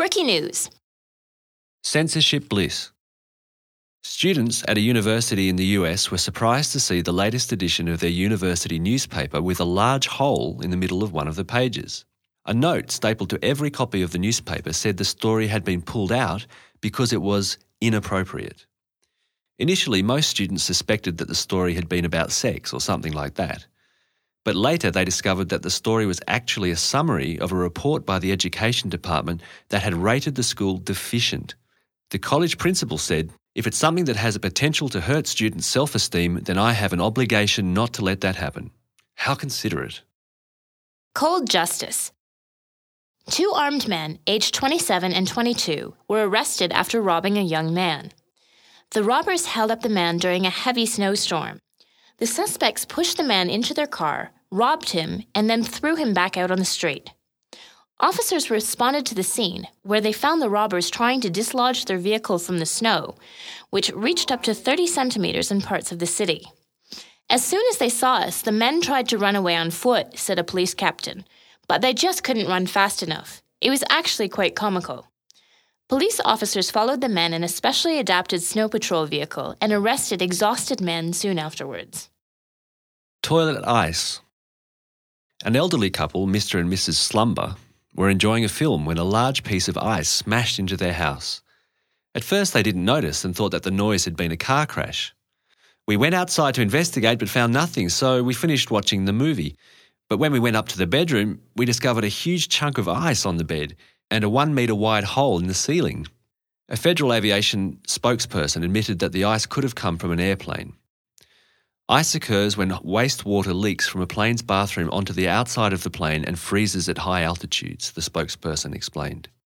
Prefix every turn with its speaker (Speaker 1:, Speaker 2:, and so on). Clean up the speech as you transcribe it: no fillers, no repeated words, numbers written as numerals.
Speaker 1: Quirky news.
Speaker 2: Censorship bliss. Students at a university in the US were surprised to see the latest edition of their university newspaper with a large hole in the middle of one of the pages. A note stapled to every copy of the newspaper said the story had been pulled out because it was inappropriate. Initially, most students suspected that the story had been about sex or something like that. But later they discovered that the story was actually a summary of a report by the Education Department that had rated the school deficient. The college principal said, "If it's something that has a potential to hurt students' self-esteem, then I have an obligation not to let that happen." How considerate.
Speaker 1: Cold justice. 2 armed men, aged 27 and 22, were arrested after robbing a young man. The robbers held up the man during a heavy snowstorm. The suspects pushed the man into their car, robbed him, and then threw him back out on the street. Officers responded to the scene, where they found the robbers trying to dislodge their vehicle from the snow, which reached up to 30 centimeters in parts of the city. "As soon as they saw us, the men tried to run away on foot," said a police captain, "but they just couldn't run fast enough. It was actually quite comical." Police officers followed the men in a specially adapted snow patrol vehicle and arrested exhausted men soon afterwards.
Speaker 2: Toilet ice. An elderly couple, Mr. and Mrs. Slumber, were enjoying a film when a large piece of ice smashed into their house. At first they didn't notice and thought that the noise had been a car crash. "We went outside to investigate but found nothing, so we finished watching the movie. But when we went up to the bedroom, we discovered a huge chunk of ice on the bed and a 1 metre wide hole in the ceiling." A Federal Aviation spokesperson admitted that the ice could have come from an airplane. Ice occurs when wastewater leaks from a plane's bathroom onto the outside of the plane and freezes at high altitudes, the spokesperson explained.